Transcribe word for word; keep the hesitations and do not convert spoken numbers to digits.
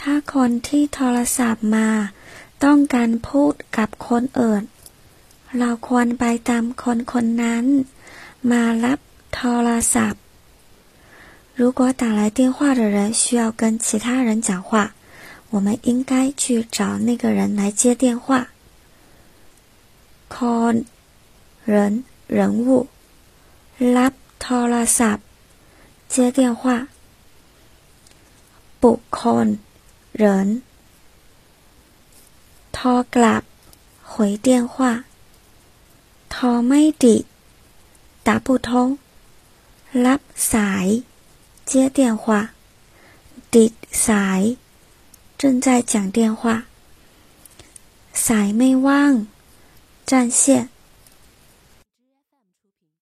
ถ้าคนที่โทรศัพท์มาต้องการพูดกับคนอื่นเราควรไปตามคนคนนั้นมารับโทรศัพท์如果打来电话的人需要跟其他人讲话我们应该去找那个人来接电话คน人人物รับโทรศัพท์接电话บุคคล人โทรกลับ回电话โทรไม่ติด打不通รับสาย接电话ติดสาย正在讲电话สายไม่ว่าง占线